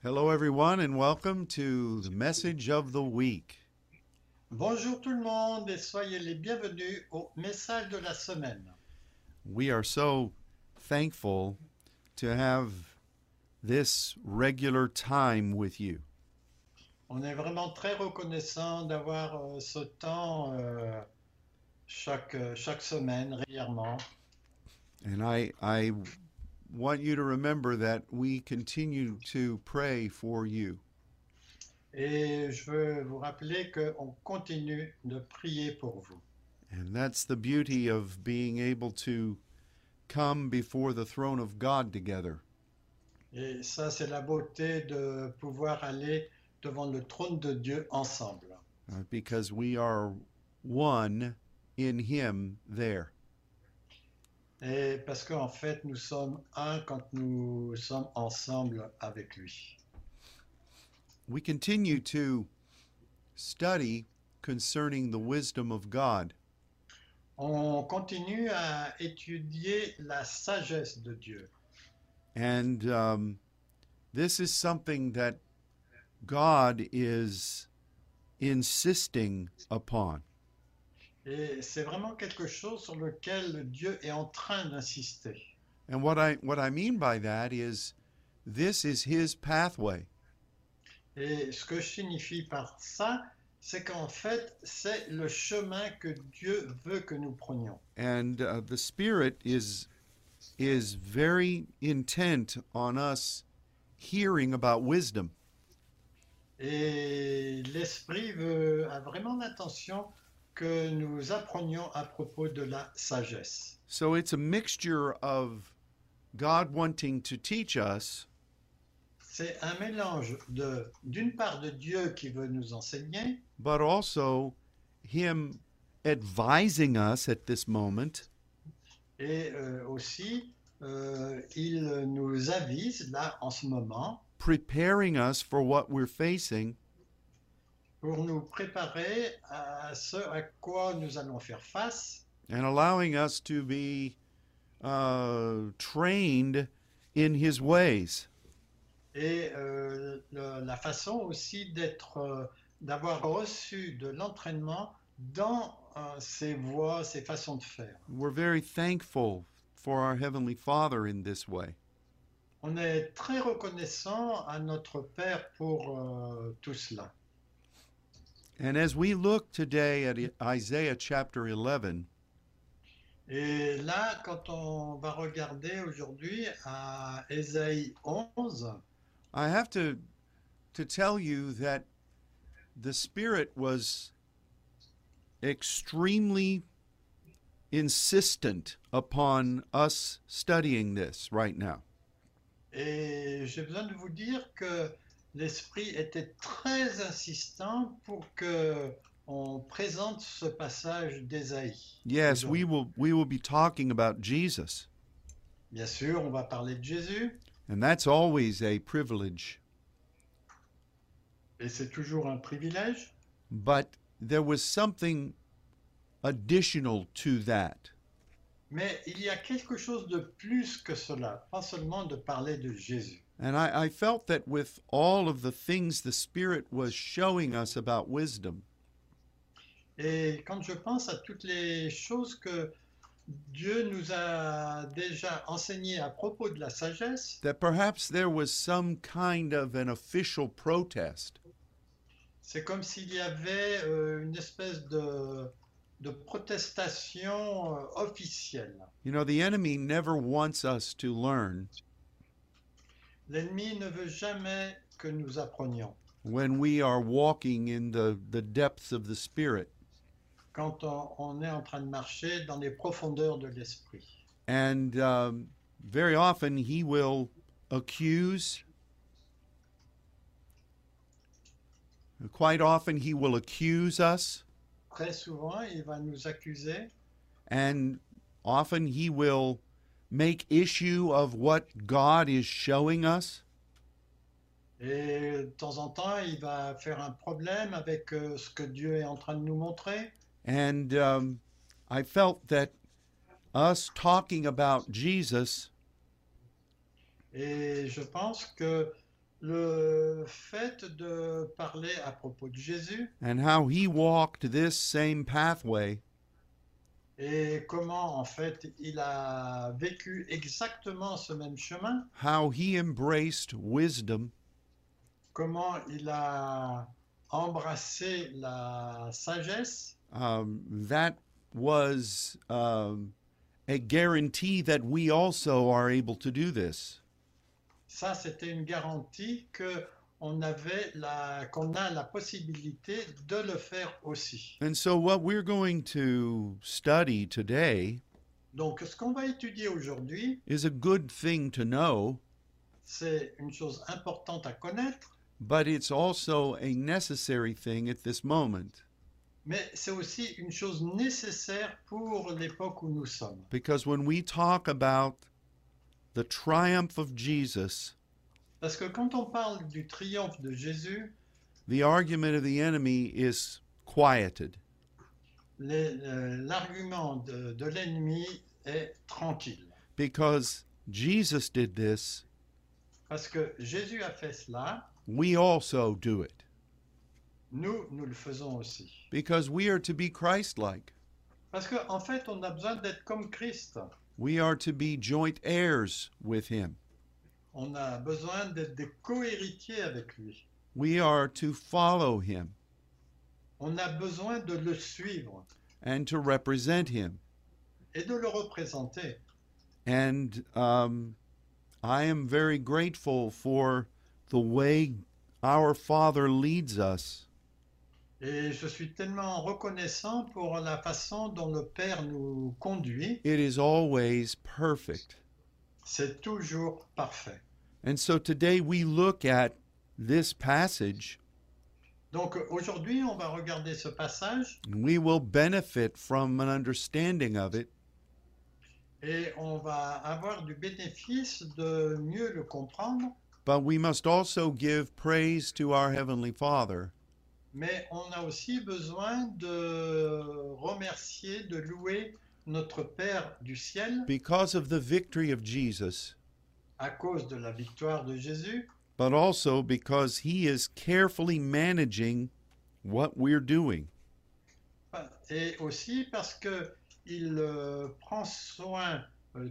Hello, everyone, and welcome to the message of the week. Bonjour tout le monde et soyez les bienvenus au message de la semaine. We are so thankful to have this regular time with you. On est vraiment très reconnaissant d'avoir ce temps chaque semaine régulièrement. And I want you to remember that we continue to pray for you. Et je veux vous rappeler qu'on continue de prier pour vous. And that's the beauty of being able to come before the throne of God together. Et ça, c'est la beauté de pouvoir aller devant le trône de Dieu ensemble. Because we are one in Him there. Et parce qu'en fait, nous sommes un quand nous sommes ensemble avec lui. We continue to study concerning the wisdom of God. On continue à étudier la sagesse de Dieu. And this is something that God is insisting upon. Et c'est vraiment quelque chose sur lequel Dieu est en train d'insister. And what I mean by that is this is His pathway. Et ce que je signifie par ça, c'est qu'en fait, c'est le chemin que Dieu veut que nous prenions. And the Spirit is very intent on us hearing about wisdom. Et l'Esprit a vraiment l'intention que nous apprenions à propos de la sagesse. So it's a mixture of God wanting to teach us, C'est un mélange d'une part de Dieu qui veut nous enseigner, but also Him advising us at this moment et aussi il nous avise là en ce moment preparing us for what we're facing, pour nous préparer à ce à quoi nous allons faire face and allowing us to be trained in His ways. et la façon aussi d'avoir reçu de l'entraînement dans ses voies, ses façons de faire. We're very thankful for our Heavenly Father in this way. On est très reconnaissant à notre Père pour tout cela. And as we look today at Isaiah chapter 11, Et là, quand on va regarder aujourd'hui à Ésaïe 11, I have to tell you that the Spirit was extremely insistent upon us studying this right now. et j'ai besoin de vous dire que l'Esprit était très insistant pour que on présente ce passage d'Ésaïe. Yes, aujourd'hui. we will be talking about Jesus, Bien sûr, on va parler de Jésus, and that's always a privilege. et c'est toujours un privilège, But there was something additional to that. mais il y a quelque chose de plus que cela, pas seulement de parler de Jésus. And I felt that with all of the things the Spirit was showing us about wisdom, Et quand je pense à toutes les choses que Dieu nous a déjà enseignées à propos de la sagesse, that perhaps there was some kind of an official protest. c'est comme s'il y avait une espèce de protestation officielle. You know, the enemy never wants us to learn L'ennemi ne veut jamais que nous apprenions. when we are walking in the depths of the Spirit. Quand on est en train de marcher dans les profondeurs de l'esprit. And very often he will accuse. Quite often he will accuse us, Très souvent, il va nous accuser and often he will make issue of what God is showing us. et de temps en temps, il va faire un problème avec ce que Dieu est en train de nous montrer. And I felt that us talking about Jesus Et je pense que le fait de parler à propos de Jésus and how he walked this same pathway et comment en fait il a vécu exactement ce même chemin, how he embraced wisdom comment il a embrassé la sagesse, that was a guarantee that we also are able to do this. ça c'était une garantie que qu'on a la possibilité de le faire aussi. And so, what we're going to study today Donc ce qu'on va étudier aujourd'hui, is a good thing to know, c'est une chose importante à connaître, but it's also a necessary thing at this moment. mais c'est aussi une chose nécessaire pour l'époque où nous sommes. Because when we talk about the triumph of Jesus, Parce que quand on parle du triomphe de Jésus, the argument of the enemy is quieted. l'argument de l'ennemi est tranquille. Because Jesus did this, Parce que Jésus a fait cela, we also do it. nous le faisons aussi. Because we are to be Christ-like. Parce qu'en fait, on a besoin d'être comme Christ. We are to be joint heirs with him. On a besoin d'être des co-héritiers avec lui. We are to follow him On a besoin de le suivre and to represent him. et de le représenter. And I am very grateful for the way our Father leads us. Et je suis tellement reconnaissant pour la façon dont le Père nous conduit. It is always perfect. C'est toujours parfait. And so today we look at this passage, Donc aujourd'hui, on va regarder ce passage and we will benefit from an understanding of it, et on va avoir du bénéfice de mieux le comprendre, but we must also give praise to our Heavenly Father mais on a aussi besoin de remercier, de louer notre Père du ciel because of the victory of Jesus, à cause de la victoire de Jésus, but also because he is carefully managing what we're doing. et aussi parce que il prend soin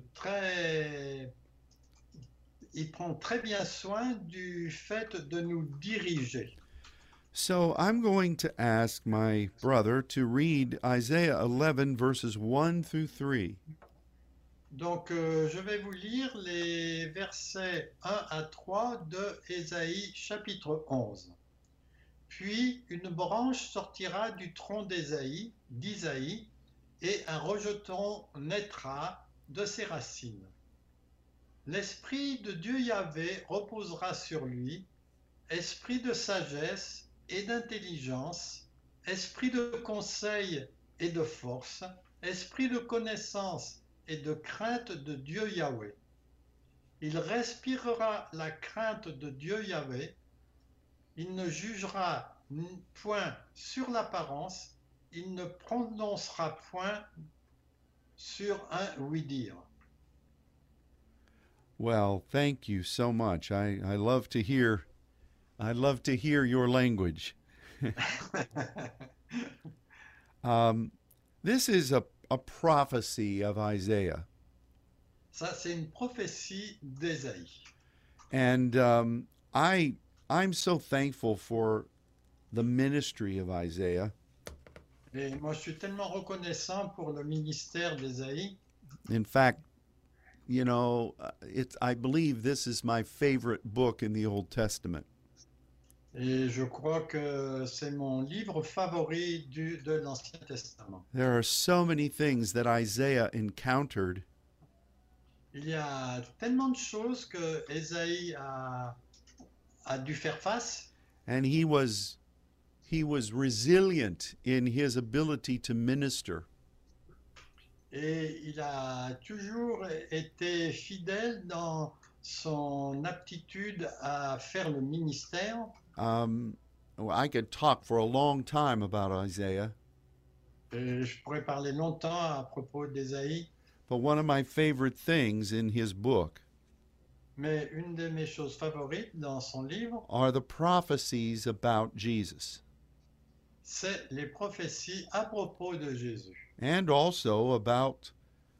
il prend très bien soin du fait de nous diriger. So I'm going to ask my brother to read Isaiah 11 verses 1 through 3. Donc je vais vous lire les versets 1 à 3 de Ésaïe chapitre 11. Puis une branche sortira du tronc d'Ésaïe, et un rejeton naîtra de ses racines. L'esprit de Dieu Yahvé reposera sur lui, esprit de sagesse et d'intelligence, esprit de conseil et de force, esprit de connaissance et de crainte de Dieu Yahvé. Il respirera la crainte de Dieu Yahvé. Il ne jugera point sur l'apparence. Il ne prononcera point sur un oui-dire. Well, thank you so much. I love to hear your language. This is a prophecy of Isaiah. Ça, c'est une prophétie d'Ésaïe. And I'm so thankful for the ministry of Isaiah. Et moi, je suis tellement reconnaissant pour le ministère d'Ésaïe. In fact, you know, I believe this is my favorite book in the Old Testament. Et je crois que c'est mon livre favori de l'Ancien Testament. There are so many things that Isaiah encountered, Il y a tellement de choses que Ésaïe a dû faire face. and he was resilient in his ability to minister. Et il a toujours été fidèle dans son aptitude à faire le ministère. I could talk for a long time about Isaiah, Et je pourrais parler longtemps à propos d'Ésaïe, but one of my favorite things in his book Mais une de mes choses favorites dans son livre, are the prophecies about Jesus, c'est les prophéties à propos de Jésus. and also about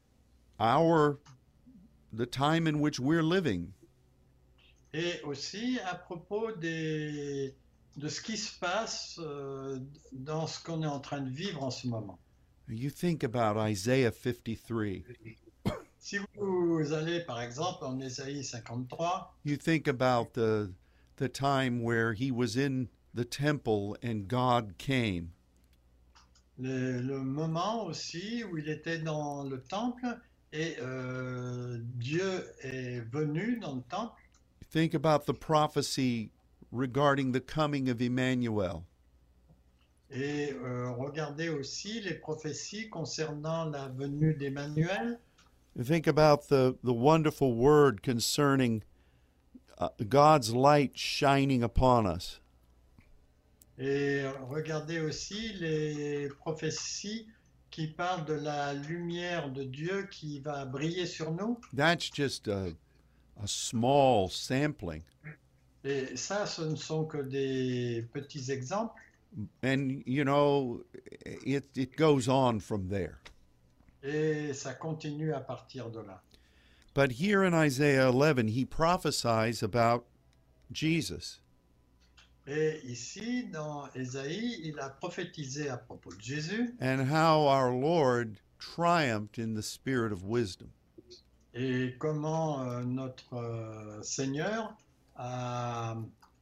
the time in which we're living. Et aussi à propos de ce qui se passe dans ce qu'on est en train de vivre en ce moment. You think about Isaiah 53. Si vous allez par exemple en Ésaïe 53, You think about the time where he was in the temple and God came. le moment aussi où il était dans le temple et Dieu est venu dans le temple. Think about the prophecy regarding the coming of Emmanuel. Et regardez aussi les prophéties concernant la venue d'Emmanuel. Think about the wonderful word concerning God's light shining upon us. Et regardez aussi les prophéties qui parlent de la lumière de Dieu qui va briller sur nous. That's just a small sampling. Et ça, ce ne sont que des petits exemples. And, you know, it goes on from there. Et ça continue à partir de là. But here in Isaiah 11, he prophesies about Jesus. Et ici, dans Ésaïe, il a prophétisé à propos de Jésus And how our Lord triumphed in the spirit of wisdom. et comment notre Seigneur a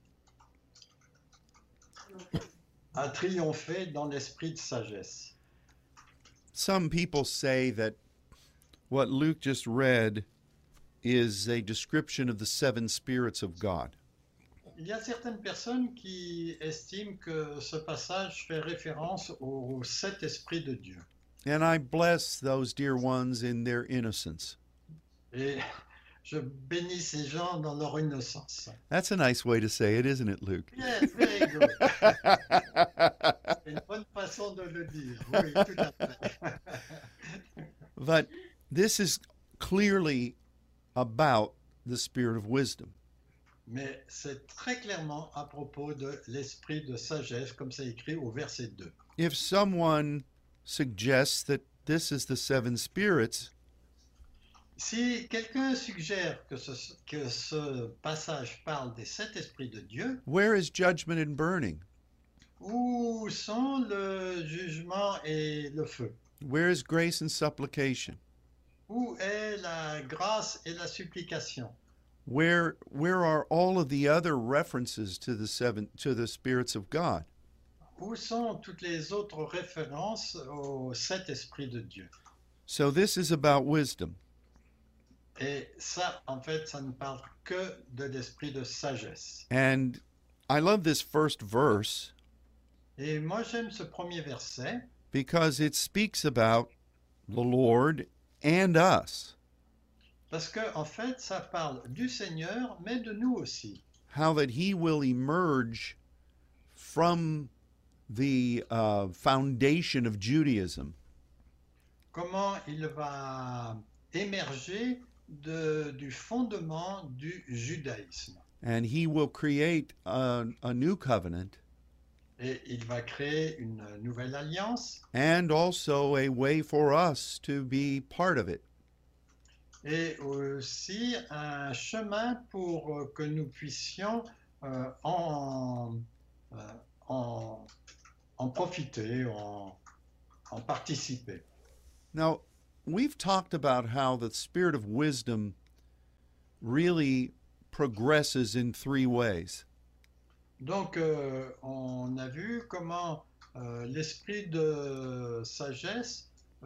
triomphé dans l'esprit de sagesse. Some people say that what Luke just read is a description of the seven spirits of God. Il y a certaines personnes qui estiment que ce passage fait référence aux 7 esprits de Dieu. And I bless those dear ones in their innocence. Et je bénis ces gens dans leur innocence. That's a nice way to say it, isn't it, Luke? Yes, very good. C'est une bonne façon de le dire. Oui, tout à fait. But this is clearly about the spirit of wisdom. Mais c'est très clairement à propos de l'esprit de sagesse, comme c'est écrit au verset 2. If someone suggests that this is the seven spirits, Si quelqu'un suggère que ce passage parle des 7 esprits de Dieu, where is judgment and burning? où sont le jugement et le feu? Where is grace and supplication? Où est la grâce et la supplication? Where are all of the other references to the spirits of God? Où sont toutes les autres références aux 7 esprits de Dieu? So this is about wisdom. Et ça, en fait, ça ne parle que de l'esprit de sagesse. And I love this first verse Et moi, j'aime ce premier verset because it speaks about the Lord and us. parce que, en fait, ça parle du Seigneur, mais de nous aussi. How that he will emerge from the foundation of Judaism Comment il va émerger du fondement du judaïsme. and he will create a new covenant Et il va créer une nouvelle alliance and also a way for us to be part of it. et aussi un chemin pour que nous puissions en profiter, en participer. Now, we've talked about how the spirit of wisdom really progresses in three ways. Donc, on a vu comment l'esprit de sagesse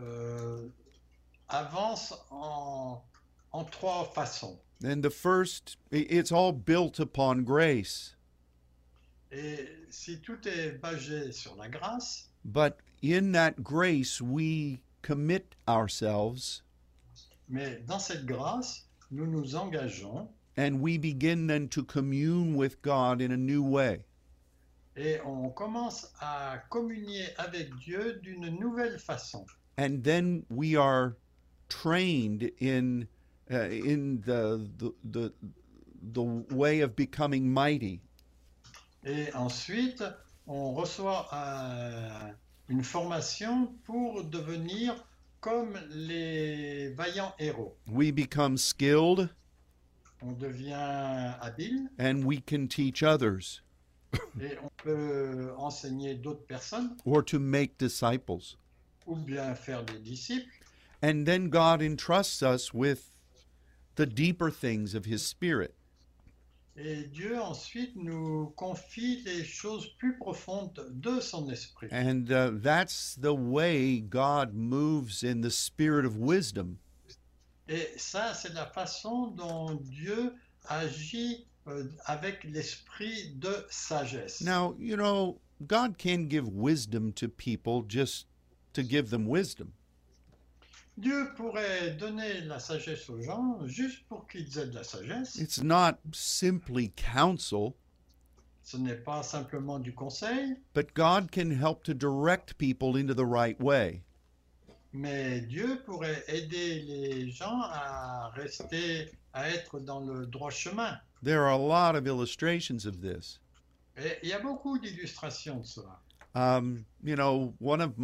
avance en 3 façons. And the first, it's all built upon grace. Et si tout est basé sur la grâce, But in that grace, we commit ourselves mais dans cette grâce, nous nous engageons and we begin then to commune with God in a new way. et on commence à communier avec Dieu d'une nouvelle façon. And then we are trained in the the way of becoming mighty. Et ensuite, on reçoit une formation pour devenir comme les vaillants héros. We become skilled, On devient habile and we can teach others, et on peut enseigner d'autres personnes or to make disciples. ou bien faire des disciples. And then God entrusts us with the deeper things of His Spirit. Et Dieu ensuite nous confie les choses plus profondes de son esprit. And that's the way God moves in the spirit of wisdom. Et ça, c'est la façon dont Dieu agit avec l'esprit de sagesse. Now, you know, God can give wisdom to people just to give them wisdom. Dieu pourrait donner la sagesse aux gens juste pour qu'ils aient de la sagesse. It's not simply counsel, Ce n'est pas simplement du conseil, but God can help to direct people into the right way. mais Dieu pourrait aider les gens à être dans le droit chemin. There are a lot of illustrations of this. Et il y a beaucoup d'illustrations de cela. You know,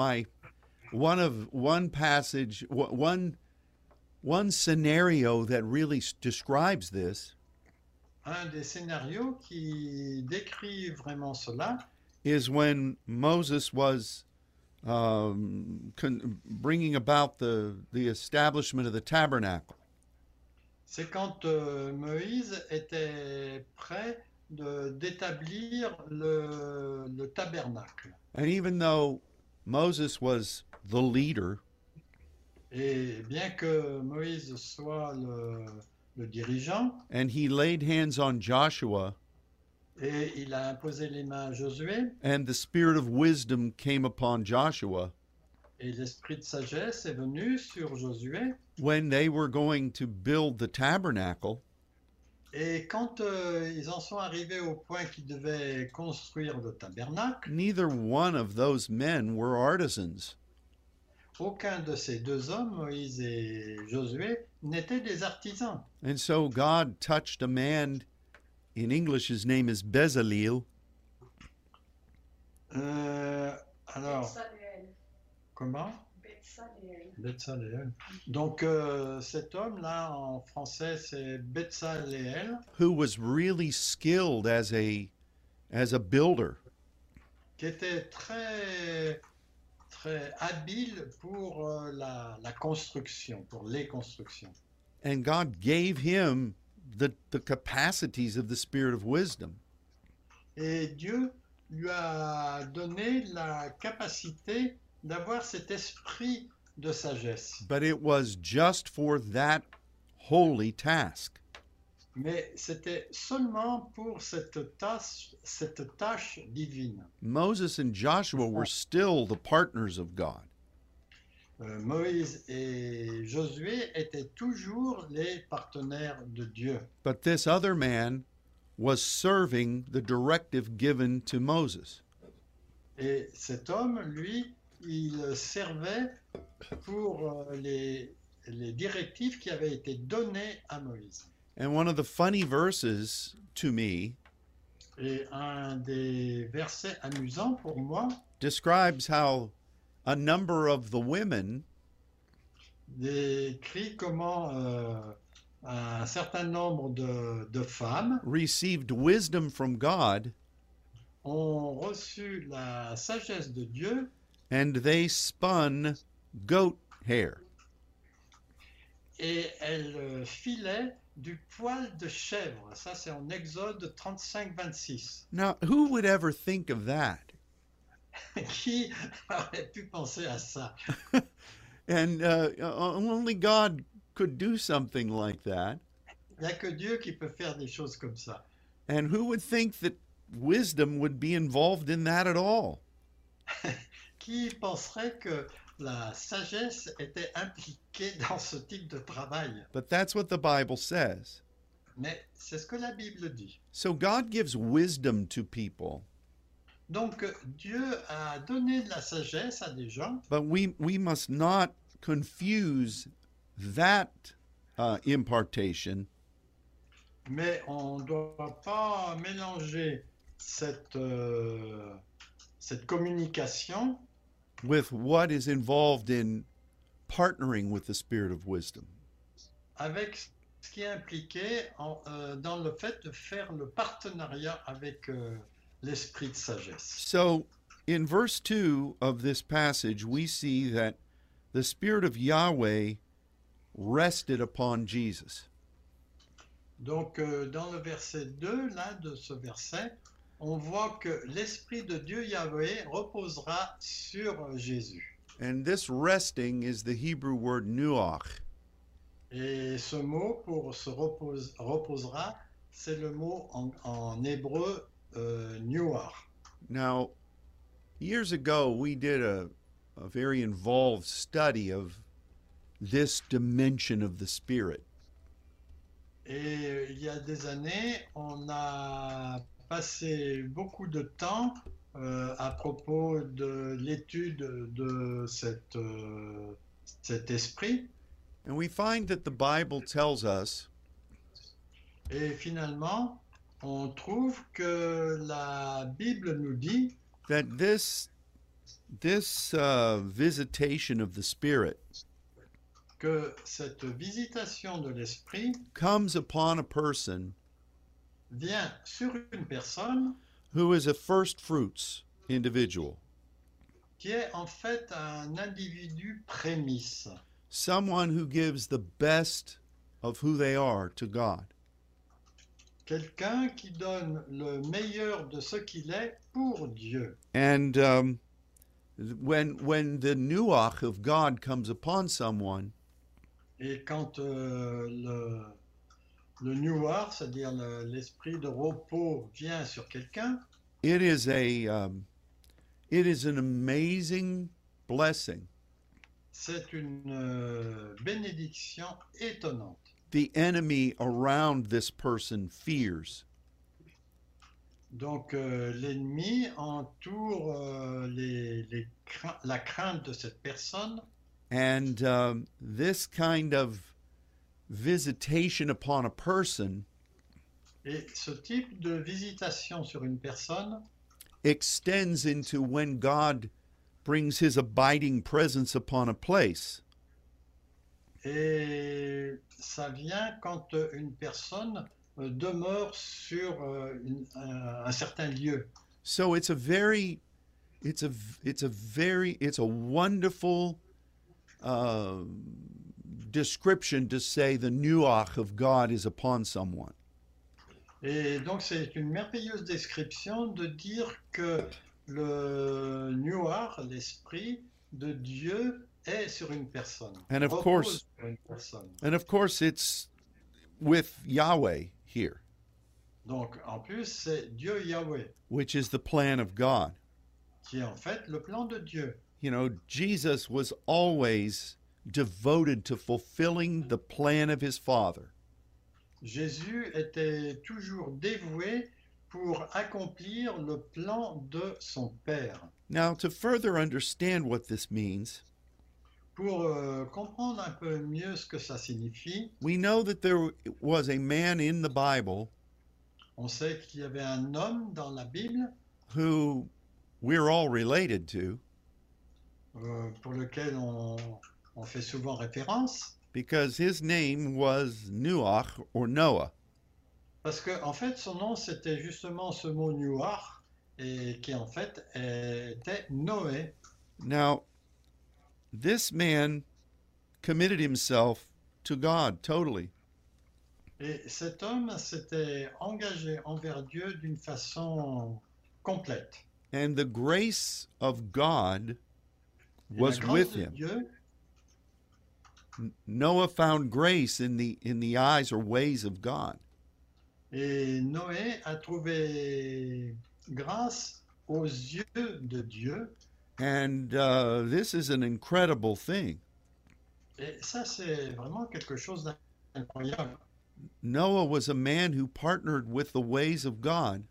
one scenario that really describes this Un des scénarios qui décrit vraiment cela, is when Moses was bringing about the establishment of the tabernacle. c'est quand Moïse était prêt d'établir le tabernacle. And even though Moses was the leader, Et bien que Moïse soit le dirigeant, and he laid hands on Joshua, et il a imposé les mains à Josué, and the spirit of wisdom came upon Joshua, et l'esprit de sagesse est venu sur Josué, when they were going to build the tabernacle, et quand ils en sont arrivés au point qu'ils devaient construire le tabernacle, neither one of those men were artisans. aucun de ces deux hommes, Moïse et Josué, n'étaient des artisans. And so God touched a man, in English his name is Bezaleel, Alors, Betsaleel. comment? Betsaleel. Betsaleel. Donc cet homme-là, en français, c'est Betsaleel, who was really skilled as a builder. qui était très, très habile pour la construction, pour les constructions. And God gave him the capacities of the spirit of wisdom. Et Dieu lui a donné la capacité d'avoir cet esprit de sagesse. But it was just for that holy task. Mais c'était seulement pour cette tâche divine. Moses and Joshua were still the partners of God. Moïse et Josué étaient toujours les partenaires de Dieu. But this other man was serving the directive given to Moses. Et cet homme, lui, il servait pour les directives qui avaient été données à Moïse. And one of the funny verses to me Et un des versets amusants pour moi describes how a number of the women décrit comment un certain nombre de femmes received wisdom from God, ont reçu la sagesse de Dieu and they spun goat hair. et elles filaient du poil de chèvre. Ça, c'est en Exode 35-26. Now, who would ever think of that? Qui aurait pu penser à ça? And only God could do something like that. Il n'y a que Dieu qui peut faire des choses comme ça. And who would think that wisdom would be involved in that at all? Qui penserait que la sagesse était impliquée dans ce type de travail? But that's what the Bible says. Mais c'est ce que la Bible dit. So God gives wisdom to people, Donc Dieu a donné de la sagesse à des gens, but we must not confuse that impartation Mais on ne doit pas mélanger cette communication with what is involved in partnering with the Spirit of wisdom. avec ce qui est impliqué dans le fait de faire le partenariat avec l'esprit de sagesse. So, in verse 2 of this passage, we see that the Spirit of Yahweh rested upon Jesus. Donc, dans le verset 2, là, de ce verset, on voit que l'Esprit de Dieu Yahweh reposera sur Jésus. And this resting is the Hebrew word nuach. Et ce mot pour reposera, c'est le mot en hébreu nuar. Now, years ago, we did a very involved study of this dimension of the Spirit. Et il y a des années, on a passé beaucoup de temps à propos de l'étude de cet esprit. And we find that the Bible tells us Et finalement, on trouve que la Bible nous dit that this visitation of the Spirit que cette visitation de l'esprit comes upon a person vient sur une personne who is a first fruits individual, qui est en fait un individu prémisse, someone who gives the best of who they are to God. quelqu'un qui donne le meilleur de ce qu'il est pour Dieu. And when the nuach of God comes upon someone, Et quand le nuar, c'est-à-dire l'esprit de repos, vient sur quelqu'un, it is an amazing blessing. c'est une bénédiction étonnante. The enemy around this person fears. Donc l'ennemi entoure la crainte de cette personne. And this kind of visitation upon a person Et ce type de visitation sur une personne extends into when God brings his abiding presence upon a place. et ça vient quand une personne demeure sur un certain lieu. So it's a wonderful description to say the nuach of God is upon someone. Et donc c'est une merveilleuse description de dire que le nuar, l'esprit de Dieu, est sur une personne. And of repose course- sur une personne. And of course, it's with Yahweh here, Donc en plus c'est Dieu Yahweh which is the plan of God. qui est en fait le plan de Dieu. You know, Jesus was always devoted to fulfilling the plan of his Father. Jésus était toujours dévoué pour accomplir le plan de son Père. Now, to further understand what this means, Pour comprendre un peu mieux ce que ça signifie, we know that there was a man in the Bible on sait qu'il y avait un homme dans la Bible who we're all related to pour lequel on fait souvent référence, because his name was Nuach or Noah. parce que en fait son nom c'était justement ce mot Nuar, et qui en fait était Noé. Now, this man committed himself to God totally. Et cet homme s'était engagé envers Dieu d'une façon complète. And the grace of God Et la was grâce with de him. Dieu, Noah found grace in the eyes or ways of God. et Noé a trouvé grâce aux yeux de Dieu. And this is an incredible thing. Et ça, c'est vraiment quelque chose d'incroyable. Noah was a man who partnered with the ways of God,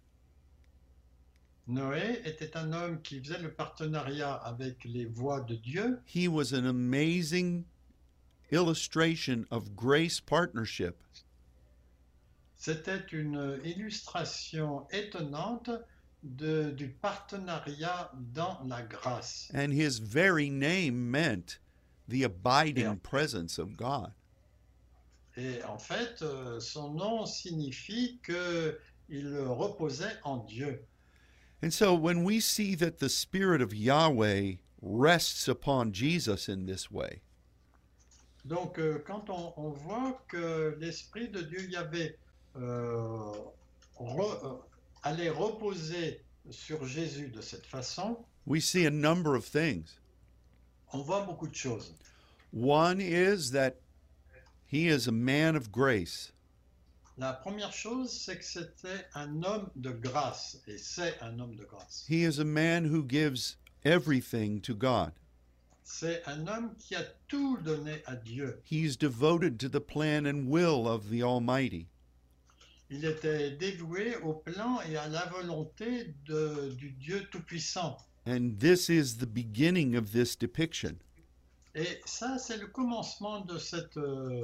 Noé était un homme qui faisait le partenariat avec les voies de Dieu. he was an amazing illustration of grace partnership. C'était une illustration étonnante du partenariat dans la grâce. And his very name meant the abiding Yeah. presence of God. Et en fait, son nom signifie qu'il reposait en Dieu. And so when we see that the Spirit of Yahweh rests upon Jesus in this way, Donc, quand on voit que l'Esprit de Dieu Yahvé allait reposer sur Jésus de cette façon, we see a number of things. on voit beaucoup de choses. One is that he is a man of grace. La première chose, c'est que c'était un homme de grâce, et c'est un homme de grâce. He is a man who gives everything to God. C'est un homme qui a tout donné à Dieu. He's devoted to the plan and will of the Almighty. Il était dévoué au plan et à la volonté du Dieu Tout-Puissant. And this is the beginning of this depiction. Et ça, c'est le commencement de cette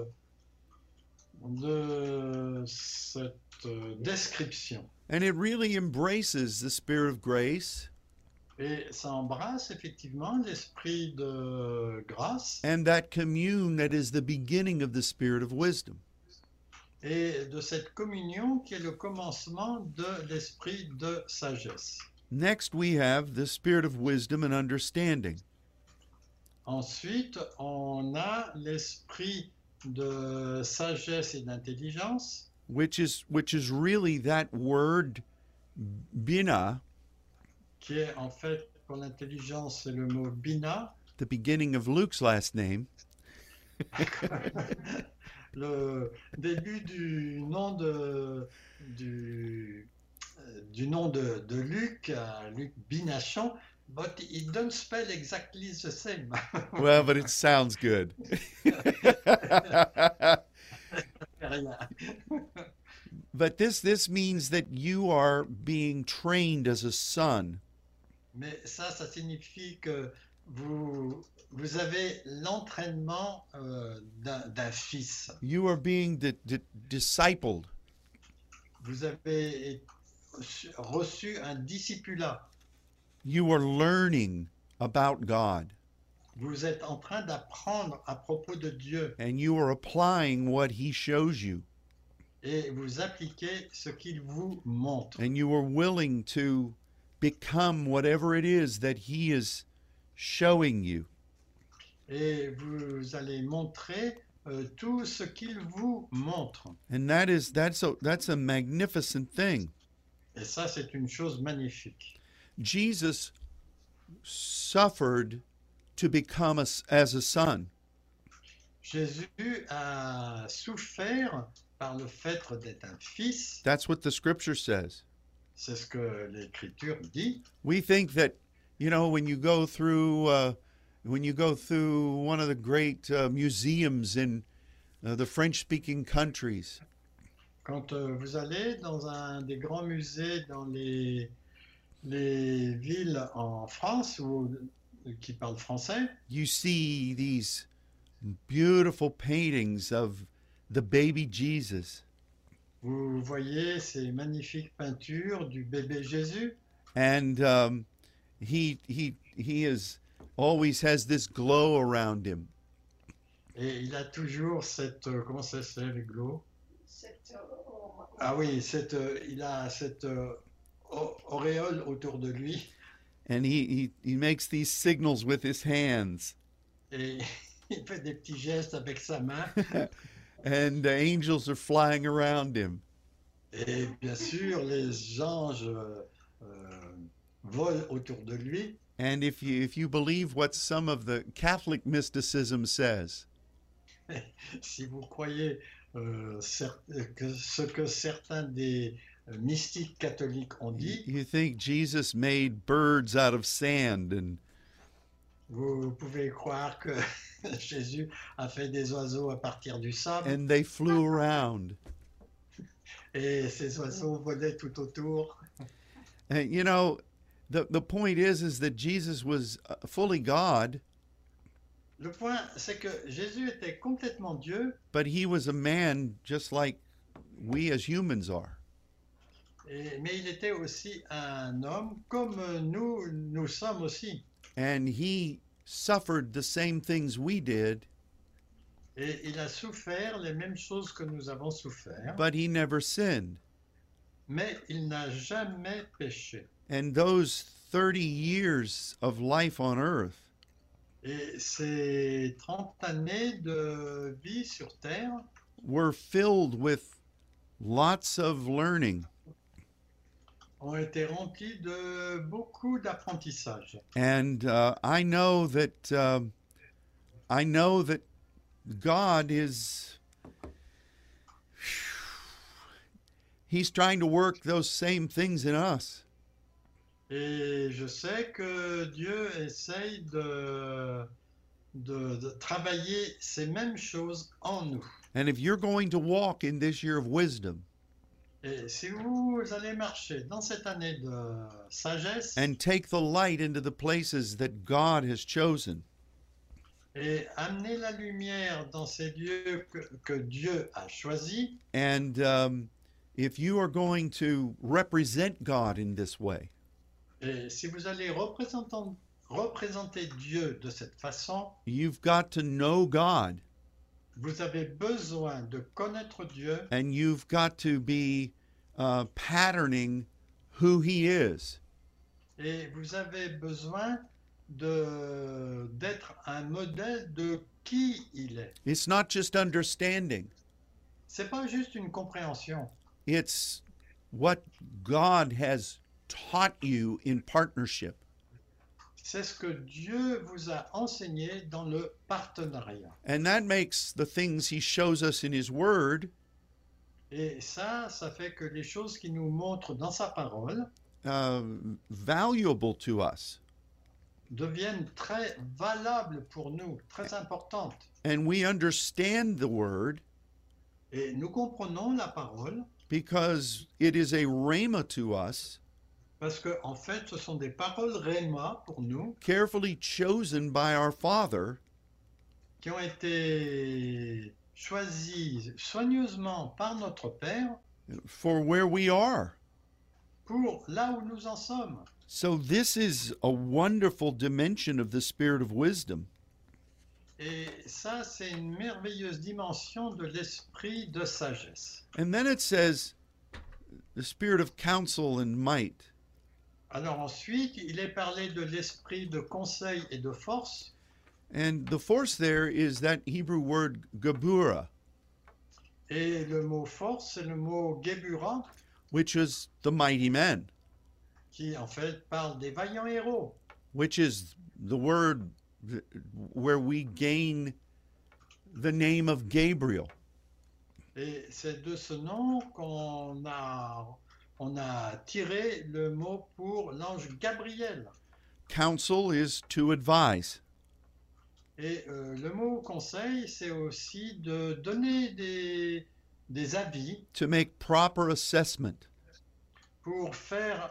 description. And it really embraces the Spirit of grace Et ça embrasse effectivement l'esprit de grâce and that commune that is the beginning of the Spirit of wisdom. et de cette communion qui est le commencement de l'esprit de sagesse. Next, we have the Spirit of wisdom and understanding. Ensuite, on a l'esprit de sagesse et d'intelligence, which is really that word bina, qui est en fait, pour l'intelligence, c'est le mot bina, the beginning of Luke's last name, le début du nom de Luc, Luc Binachon, but it don't spell exactly the same. well, but it sounds good. Rien. But this means that you are being trained as a son. Mais ça signifie que vous avez l'entraînement d'un fils. You are being discipled. Vous avez reçu un discipulat. You are learning about God. Vous êtes en train d'apprendre à propos de Dieu And you are applying what he shows you. et vous appliquez ce qu'il vous montre. And you are willing to become whatever it is that he is showing you. Et vous allez montrer tout ce qu'il vous montre. And that's a magnificent thing. Et ça, c'est une chose magnifique. Jesus suffered to become as a son. Jésus a souffert par le fait d'être un fils. That's what the scripture says. C'est ce que l'Écriture dit. We think that, when you go through one of the great museums in the French-speaking countries, Quand vous allez dans un des grands musées dans les villes en France qui parlent français, you see these beautiful paintings of the baby Jesus. vous voyez ces magnifiques peintures du bébé Jésus. And he is always has this glow around him. Et il a toujours cette, comment ça s'appelle, le glow? Ah oui, il a cette auréole autour de lui. And he makes these signals with his hands. Et il fait des petits gestes avec sa main. And the angels are flying around him. Et bien sûr, les anges volent autour de lui. And if you believe what some of the Catholic mysticism says, Si vous croyez ce que certains des mystiques catholiques ont dit, you think Jesus made birds out of sand and vous pouvez croire que Jésus a fait des oiseaux à partir du sable and they flew around. et ces oiseaux volaient tout autour. And the point is that Jesus was fully God, Le point, c'est que Jésus était complètement Dieu, but he was a man just like we as humans are. Mais il était aussi un homme comme nous sommes aussi. And he suffered the same things we did, Et il a souffert les mêmes choses que nous avons souffert, but he never sinned. mais il n'a jamais péché. And those 30 years of life on earth Et ces 30 années de vie sur Terre were filled with lots of learning. ont été remplies de beaucoup d'apprentissage. And I know that God is, he's trying to work those same things in us. Et je sais que Dieu essaye de travailler ces mêmes choses en nous. And if you're going to walk in this year of wisdom Et si vous allez marcher dans cette année de sagesse and take the light into the places that God has chosen, et amener la lumière dans ces lieux que Dieu a choisis, and if you are going to represent God in this way, et si vous allez représenter Dieu de cette façon, you've got to know God, vous avez besoin de connaître Dieu and you've got to be patterning who He is. et vous avez besoin d'être un modèle de qui il est. It's not just understanding, C'est pas juste une compréhension, it's what God has taught you in partnership. c'est ce que Dieu vous a enseigné dans le partenariat. And that makes the things He shows us in His Word Et ça fait que les choses qu'il nous montre dans sa parole valuable to us. deviennent très valables pour nous, très importantes. And we understand the Word Et nous comprenons la parole because it is a rhema to us, parce que en fait, ce sont des paroles réma pour nous carefully chosen by our Father qui ont été choisies soigneusement par notre Père for where we are. pour là où nous en sommes. So this is a wonderful dimension of the spirit of wisdom. Et ça, c'est une merveilleuse dimension de l'esprit de sagesse. And then it says the spirit of counsel and might. Alors ensuite, il est parlé de l'esprit de conseil et de force. And the force there is that Hebrew word gabura, Et le mot force, c'est le mot gebura, which is the mighty men, qui en fait parle des vaillants héros. which is the word where we gain the name of Gabriel. Et c'est de ce nom qu'on a tiré le mot pour l'ange Gabriel. Counsel is to advise. Et le mot conseil, c'est aussi de donner des avis To make proper assessment. pour faire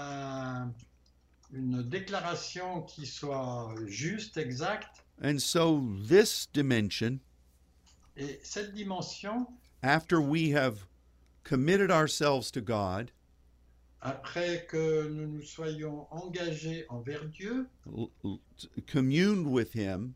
une déclaration qui soit juste, exacte. And so this dimension, Et cette dimension, after we have committed ourselves to God, après que nous nous soyons engagés envers Dieu, communed with Him,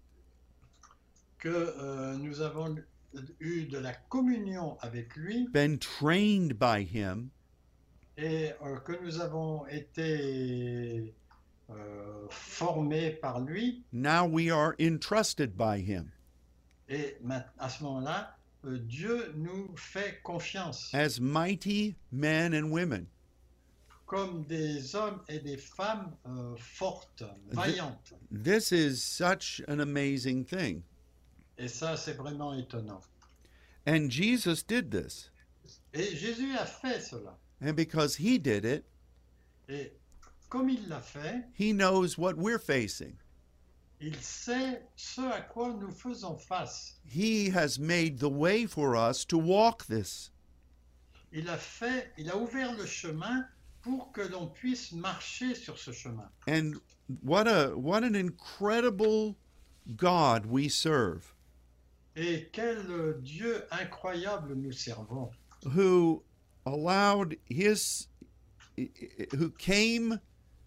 que nous avons eu de la communion avec lui been trained by Him, et que nous avons été formés par lui, now we are entrusted by Him et à ce moment-là, Dieu nous fait confiance as mighty men and women. comme des hommes et des femmes fortes, vaillantes. This is such an amazing thing. Et ça, c'est vraiment étonnant. And Jesus did this. Et Jésus a fait cela. And because He did it, Et comme il l'a fait, He knows what we're facing. il sait ce à quoi nous faisons face. He has made the way for us to walk this. Il a ouvert le chemin pour que l'on puisse marcher sur ce chemin. And what an incredible God we serve. Et quel Dieu incroyable nous servons. who allowed his who came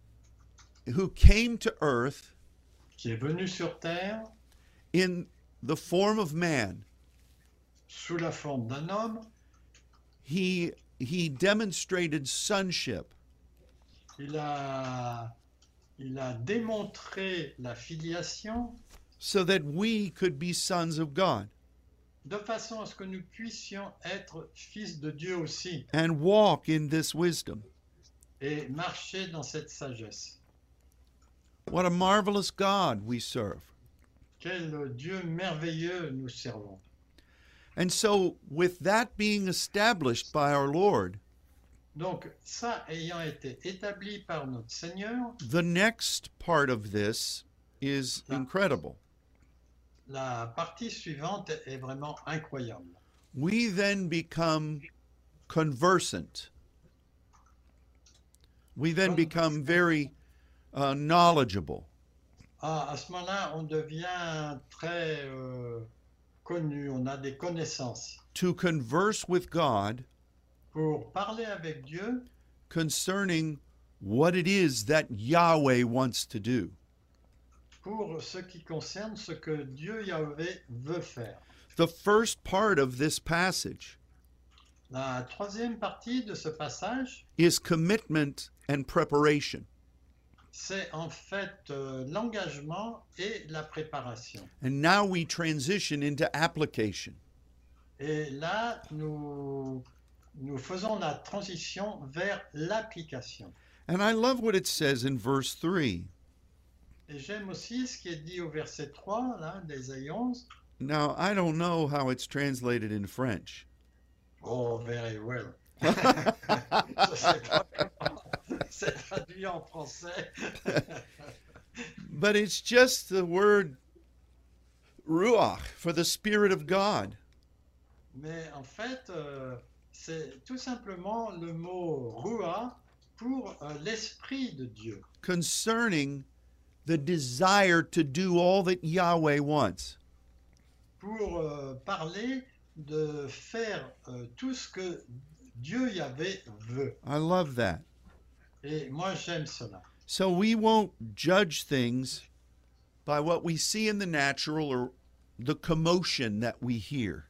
to earth qui est venu sur terre in the form of man. sous la forme d'un homme. He demonstrated sonship. Il a démontré la filiation So that we could be sons of God de façon à ce que nous puissions être fils de Dieu aussi and walk in this wisdom. et marcher dans cette sagesse. What a marvelous God we serve. Quel Dieu merveilleux nous servons. And so, with that being established by our Lord, Donc ça ayant été établi par notre Seigneur, the next part of this is incredible. la partie suivante est vraiment incroyable. We then become conversant. We then become very knowledgeable. À ce moment-là, on devient très connu, on a des connaissances To converse with God pour parler avec Dieu concerning what it is that Yahweh wants to do. pour ce qui concerne ce que Dieu Yahvé veut faire. The first part of this passage La troisième partie de ce passage, is commitment and preparation. c'est en fait l'engagement et la préparation. And now we transition into application. Et là, nous faisons la transition vers l'application. And I love what it says in verse 3. Et j'aime aussi ce qui est dit au verset 3 là, d'Ésaïe 11. Now, I don't know how it's translated in French. Oh, very well. Je sais pas comment c'est traduit en français. But it's just the word ruach for the Spirit of God. Mais en fait, c'est tout simplement le mot ruah pour l'Esprit de Dieu, Concerning the desire to do all that Yahweh wants. pour parler de faire tout ce que Dieu Yahvé veut. I love that. Et moi, j'aime cela. So we won't judge things by what we see in the natural or the commotion that we hear.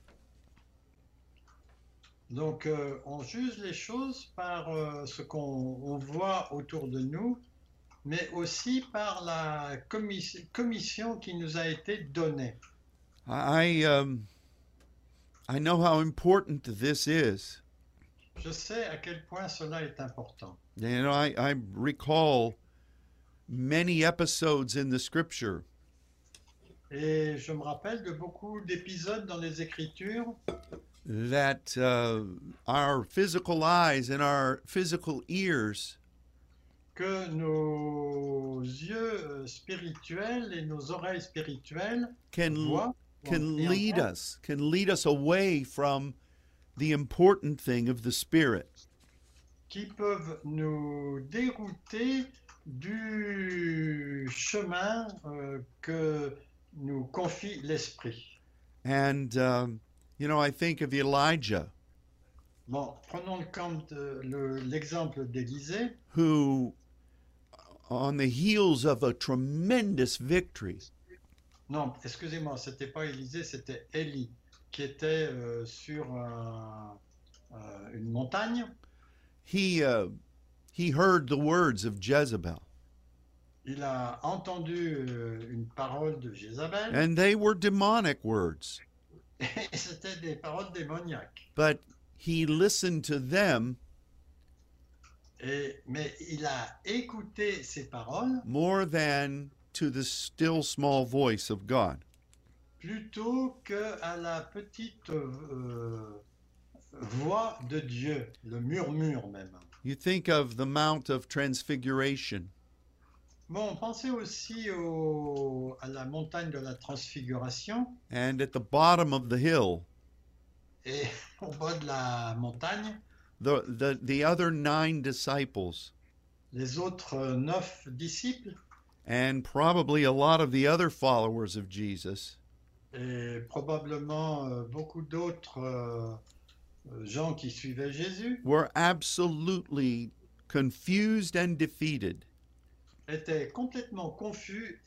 Donc, on juge les choses par ce qu'on voit autour de nous, mais aussi par la commission qui nous a été donnée. I know how important this is. Je sais à quel point cela est important. You know, I recall many episodes in the scripture Et je me rappelle de beaucoup d'épisodes dans les Écritures that our physical eyes and our physical ears que nos yeux spirituels et nos oreilles spirituelles can voient can et lead entendent, us away from the important thing of the Spirit. qui peuvent nous dérouter du chemin que nous confie l'Esprit. And you know, I think of Elijah, Bon, prenons l'exemple d'Élisée, who, on the heels of a tremendous victory, non, excusez-moi, c'était pas Élisée, c'était Élie, qui était sur une montagne. he heard the words of Jezebel, Il a entendu une parole de Jézabel, and they were demonic words. et c'était des paroles démoniaques. But he listened to them Mais il a écouté ces paroles more than to the still small voice of God. plutôt qu'à la petite voix de Dieu, le murmure même. You think of the Mount of Transfiguration, Bon, pensez aussi à la montagne de la transfiguration, and at the bottom of the hill, et au bas de la montagne, the other 9 disciples, les autres 9 disciples, and probably a lot of the other followers of Jesus, et probablement beaucoup d'autres gens qui suivaient Jésus were absolutely confused and defeated étaient complètement confus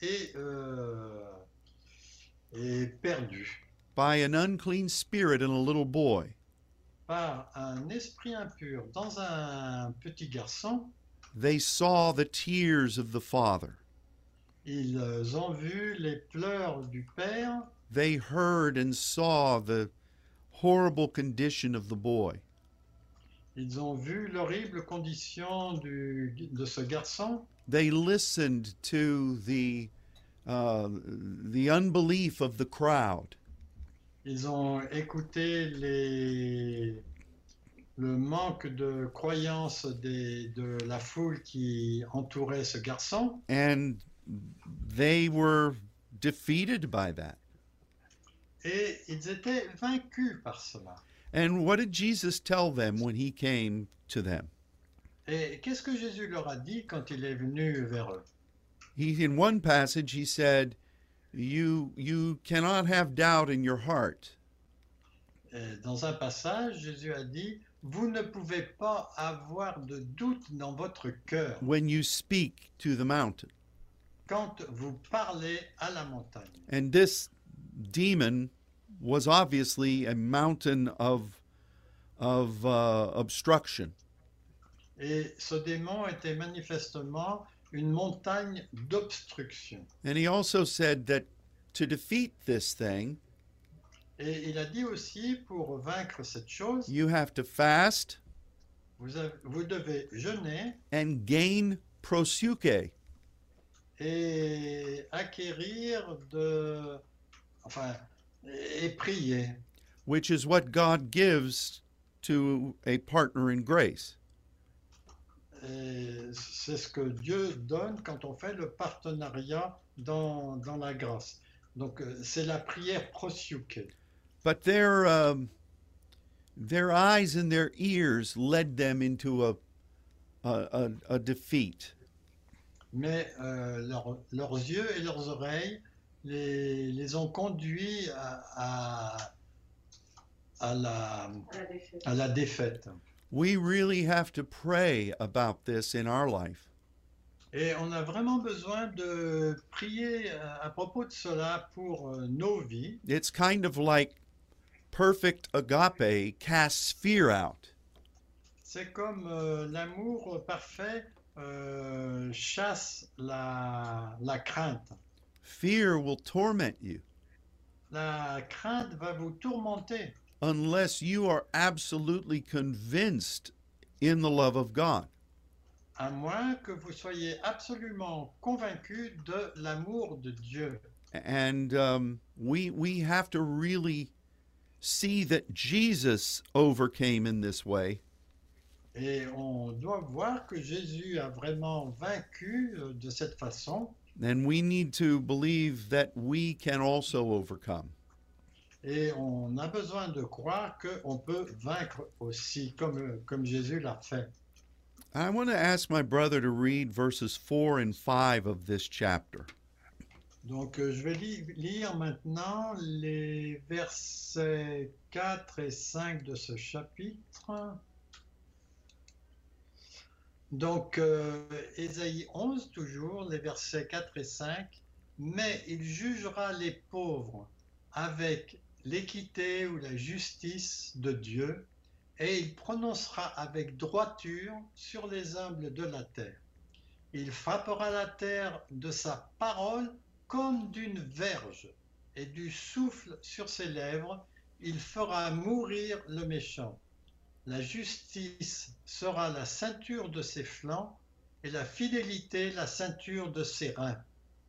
et perdus by an unclean spirit in a little boy. par un esprit impur dans un petit garçon. They saw the tears of the father. Ils ont vu les pleurs du père, They heard and saw the horrible condition of the boy. ils ont vu l'horrible condition de ce garçon. They listened to the unbelief of the crowd. Ils ont écouté le manque de croyance de la foule qui entourait ce garçon. And they were defeated by that. Et ils étaient vaincus par cela. And what did Jesus tell them when he came to them? Et qu'est-ce que Jésus leur a dit quand il est venu vers eux? In one passage, he said, you cannot have doubt in your heart. Et dans un passage, Jésus a dit, vous ne pouvez pas avoir de doute dans votre cœur When you speak to the mountain. quand vous parlez à la montagne. And this demon was obviously a mountain of obstruction. Et ce démon était manifestement une montagne d'obstruction. And he also said that to defeat this thing, Et il a dit aussi, pour vaincre cette chose, you have to fast vous devez jeûner and gain prosuke. et acquérir et prier. Which is what God gives to a partner in grace. Et c'est ce que Dieu donne quand on fait le partenariat dans la grâce. Donc c'est la prière prosuke. But their eyes and their ears led them into a defeat. Mais leurs yeux et leurs oreilles les ont conduits à la défaite. We really have to pray about this in our life. Et on a vraiment besoin de prier à propos de cela pour nos vies. It's kind of like perfect agape casts fear out. C'est comme l'amour parfait chasse la crainte. Fear will torment you La crainte va vous tourmenter unless you are absolutely convinced in the love of God. à moins que vous soyez absolument convaincu de l'amour de Dieu. And we have to really see that Jesus overcame in this way. Et on doit voir que Jésus a vraiment vaincu de cette façon. And we need to believe that we can also overcome. Et on a besoin de croire qu'on peut vaincre aussi, comme Jésus l'a fait. I want to ask my brother to read verses 4 and 5 of this chapter. Donc je vais lire maintenant les versets 4 et 5 de ce chapitre. Donc Ésaïe 11 toujours, les versets 4 et 5. Mais il jugera les pauvres avec l'équité ou la justice de Dieu, et il prononcera avec droiture sur les humbles de la terre. Il frappera la terre de sa parole comme d'une verge, et du souffle sur ses lèvres, il fera mourir le méchant. La justice sera la ceinture de ses flancs, et la fidélité la ceinture de ses reins.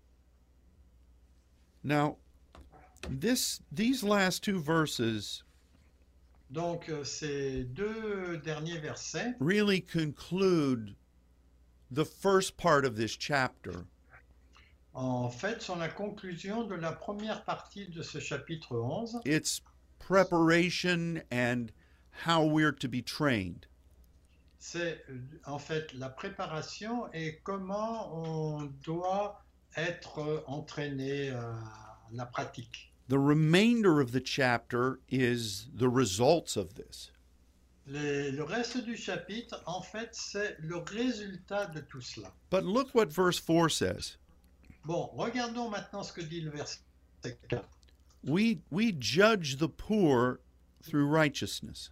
Now, these last two verses Donc ces deux derniers versets really conclude the first part of this chapter. en fait sont la conclusion de la première partie de ce chapitre 11. It's preparation and how we're to be trained. C'est en fait la préparation et comment on doit être entraîné à la pratique. The remainder of the chapter is the results of this. Le reste du chapitre, en fait, c'est le résultat de tout cela. But look what verse 4 says. Bon, regardons maintenant ce que dit le verset 4. We judge the poor through righteousness.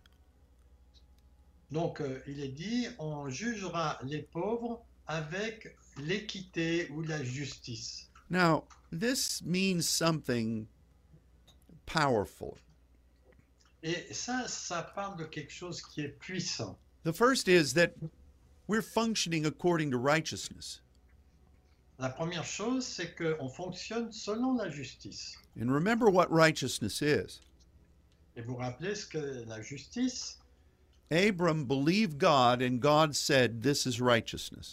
Donc, il est dit, on jugera les pauvres avec l'équité ou la justice. Now, this means something powerful. Et ça parle de quelque chose qui est puissant. The first is that we're functioning according to righteousness. La première chose, c'est qu'on fonctionne selon la justice. And remember what righteousness is. Et vous rappelez ce que la justice, Abram believed God, and God said, "This is righteousness."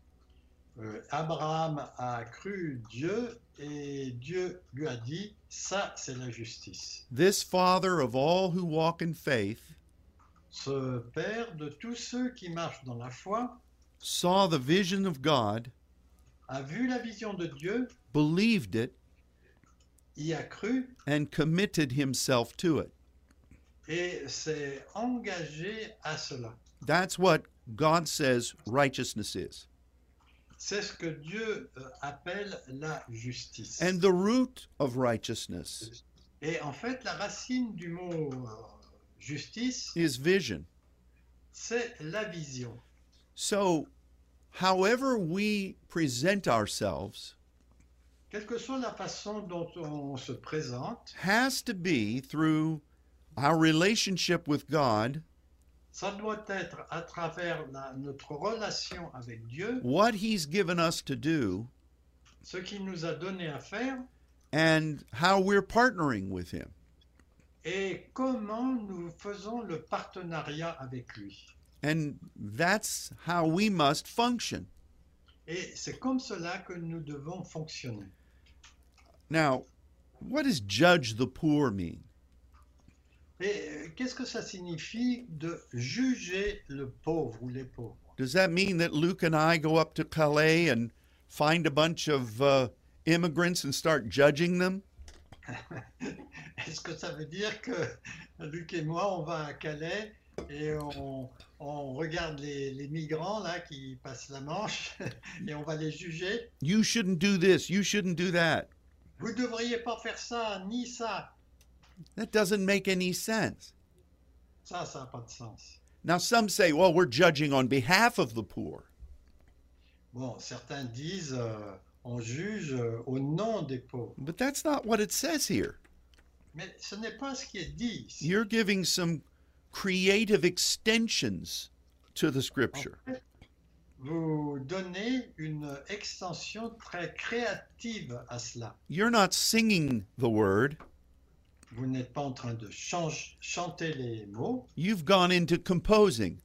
Abraham a cru Dieu et Dieu lui a dit, ça c'est la justice. This father of all who walk in faith Ce Père de tous ceux qui marchent dans la foi saw the vision of God, a vu la vision de Dieu, believed it, y a cru and committed himself to it. et s'est engagé à cela. That's what God says righteousness is. C'est ce que Dieu appelle la justice. And the root of righteousness Et en fait, la racine du mot justice, is vision. c'est la vision. So, however we present ourselves Quelle que soit la façon dont on se présente, has to be through our relationship with God, ça doit être à travers notre relation avec Dieu, what He's given us to do, ce qu'il nous a donné à faire and how we're partnering with Him. et comment nous faisons le partenariat avec lui. And that's how we must function. Et c'est comme cela que nous devons fonctionner. Now, what does judge the poor mean? Et qu'est-ce que ça signifie de juger le pauvre ou les pauvres? Does that mean that Luke and I go up to Calais and find a bunch of immigrants and start judging them? Est-ce que ça veut dire que Luc et moi, on va à Calais et on regarde les migrants là qui passent la Manche et on va les juger? You shouldn't do this, you shouldn't do that. Vous ne devriez pas faire ça, ni ça. That doesn't make any sense. Ça n'a pas de sens. Now, some say, well, we're judging on behalf of the poor. Bon, certains disent, on juge au nom des pauvres. But that's not what it says here. Mais ce n'est pas ce qui est dit ici. You're giving some creative extensions to the En scripture. fait, vous donnez une extension très créative à cela. You're not singing the word. Vous n'êtes pas en train de chanter les mots. You've gone into composing.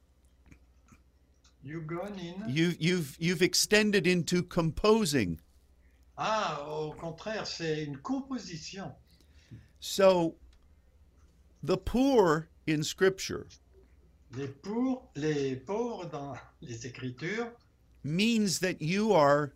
You gone in. You've extended into composing. Ah, au contraire, c'est une composition. So, the poor in scripture Les pauvres dans les Écritures means that you're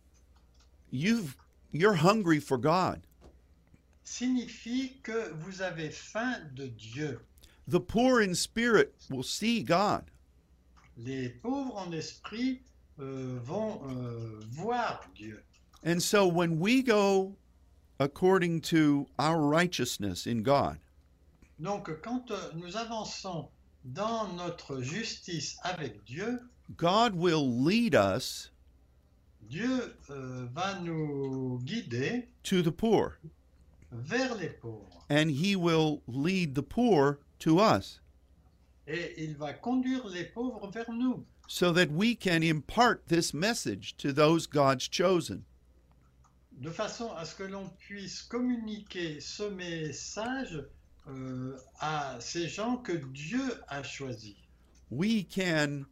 hungry for God. signifie que vous avez faim de Dieu. The poor in spirit will see God. Les pauvres en esprit vont voir Dieu. And so when we go according to our righteousness in God, Donc quand nous avançons dans notre justice avec Dieu, God will lead us Dieu va nous guider to the poor, vers les pauvres. and He will lead the poor to us, Et il va conduire les pauvres vers nous, so that we can impart this message to those God's chosen. de façon à ce que l'on puisse communiquer ce message à ces gens que Dieu a choisis. We can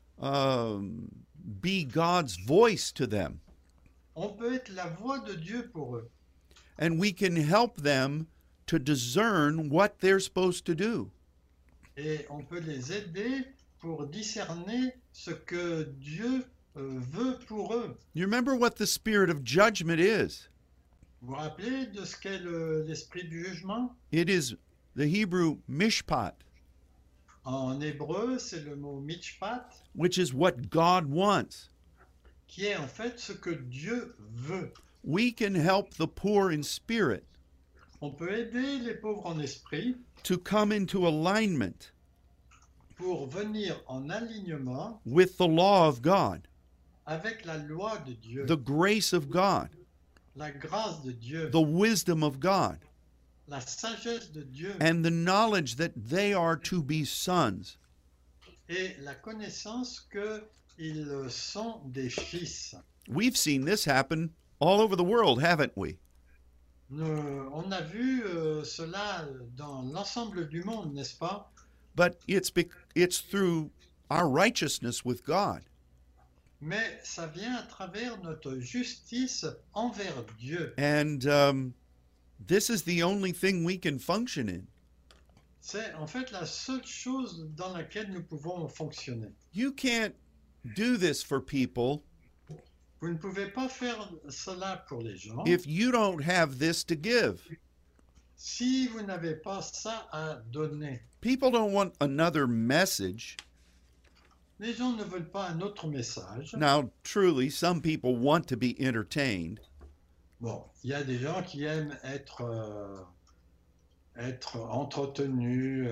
be God's voice to them, On peut être la voix de Dieu pour eux. and we can help them to discern what they're supposed to do. Et on peut les aider pour discerner ce que Dieu veut pour eux. You remember what the spirit of judgment is? Vous vous rappelez de ce qu'est l'esprit du jugement? It is the Hebrew mishpat. En hébreu, c'est le mot mishpat, which is what God wants. qui est en fait ce que Dieu veut. We can help the poor in spirit On peut aider les pauvres en esprit to come into alignment pour venir en alignement with the law of God, avec la loi de Dieu, the grace of God, la grâce de Dieu, the wisdom of God, la sagesse de Dieu and the knowledge that they are to be sons. et la connaissance qu'ils sont des fils. We've seen this happen all over the world, haven't we? On a vu cela dans l'ensemble du monde, n'est-ce pas? But it's through our righteousness with God. Mais ça vient à travers notre justice envers Dieu. And this is the only thing we can function in. C'est en fait la seule chose dans laquelle nous pouvons fonctionner. You can't do this for people Vous ne pouvez pas faire cela pour les gens if you don't have this to give. si vous n'avez pas ça à donner. People don't want another message. Les gens ne veulent pas un autre message. Now, truly, some people want to be entertained, Bon, il y a des gens qui aiment être entretenus,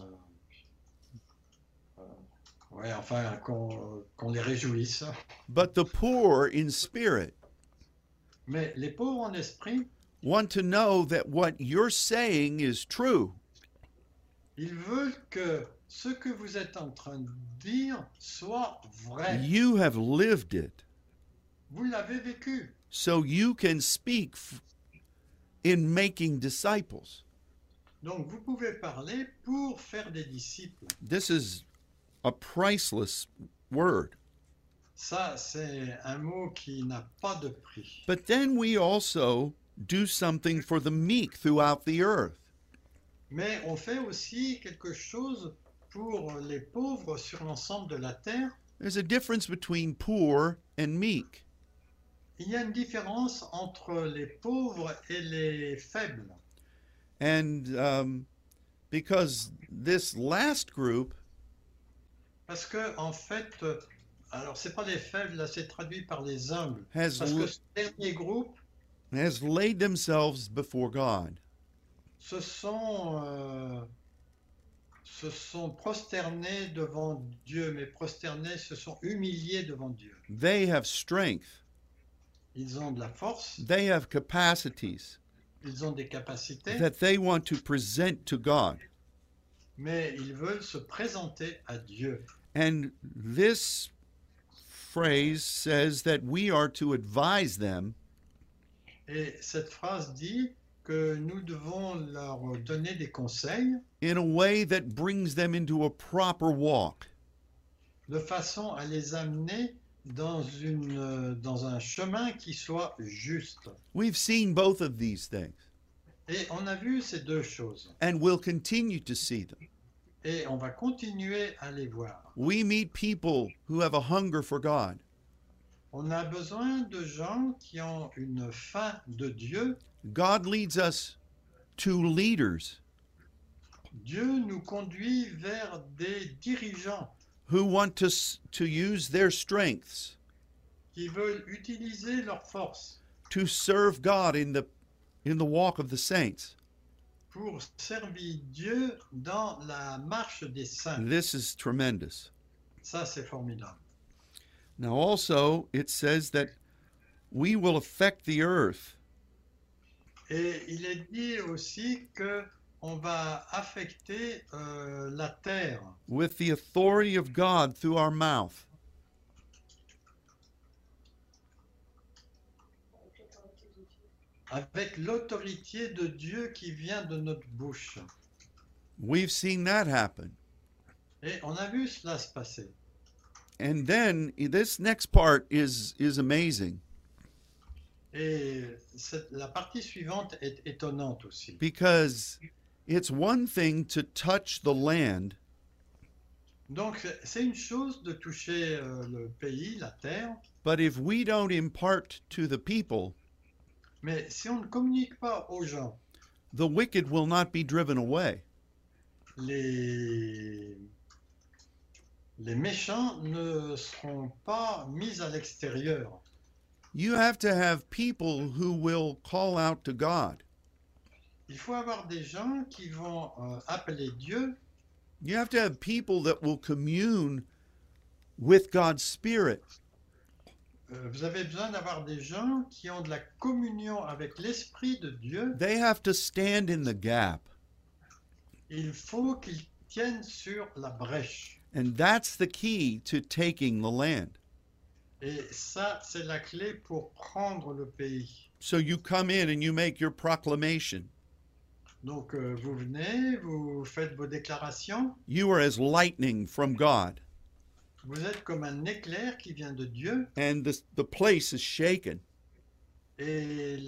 ouais, enfin, qu'on les réjouisse. but the poor in spirit Mais les pauvres en esprit, want to know that what you're saying is true. ils veulent que ce que vous êtes en train de dire soit vrai. You have lived it, Vous l'avez vécu. so you can speak in making disciples. Donc vous pouvez parler pour faire des disciples. This is a priceless word. Ça, c'est un mot qui n'a pas de prix. But then we also do something for the meek throughout the earth. Mais on fait aussi quelque chose pour les pauvres sur l'ensemble de la terre. There's a difference between poor and meek. Il y a une différence entre les pauvres et les faibles. And because this last group Parce que, en fait, alors c'est pas les faibles, là c'est traduit par les humbles. has, Parce que ce dernier groupe has laid themselves before God. se sont prosternés devant Dieu, mais prosternés se sont humiliés devant Dieu. They have strength. Ils ont de la force, They have capacities ils ont des capacités, that they want to present to God. mais ils veulent se présenter à Dieu. And this phrase says that we are to advise them Et cette phrase dit que nous devons leur donner des conseils in a way that brings them into a proper walk. de façon à les amener dans un chemin qui soit juste. We've seen both of these things, Et on a vu ces deux choses. and we'll continue to see them. Et on va continuer à les voir. We meet people who have a hunger for God. On a besoin de gens qui ont une faim de Dieu. God leads us to leaders Dieu nous conduit vers des dirigeants who want to use their strengths qui veulent utiliser leurs forces to serve God in the walk of the saints. pour servir Dieu dans la marche des saints. This is tremendous. Ça, c'est formidable. Now also it says that we will affect the earth Et il est dit aussi que on va affecter la terre with the authority of God through our mouth. avec l'autorité de Dieu qui vient de notre bouche. We've seen that happen. Et on a vu cela se passer. And then this next part is amazing Et la partie suivante est étonnante aussi. because it's one thing to touch the land, Donc c'est une chose de toucher le pays, la terre, but if we don't impart to the people, mais si on ne communique pas aux gens, the wicked will not be driven away. les Les méchants ne seront pas mis à l'extérieur. You have to have people who will call out to God. Il faut avoir des gens qui vont appeler Dieu. You have to have people that will commune with God's Spirit. Vous avez besoin d'avoir des gens qui ont de la communion avec l'Esprit de Dieu. They have to stand in the gap. Il faut qu'ils tiennent sur la brèche. And that's the key to taking the land. Et ça, c'est la clé pour prendre le pays. So you come in and you make your proclamation. Donc, vous venez, vous faites vos déclarations. You are as lightning from God. Vous êtes comme un éclair qui vient de Dieu. And the place is shaken. Et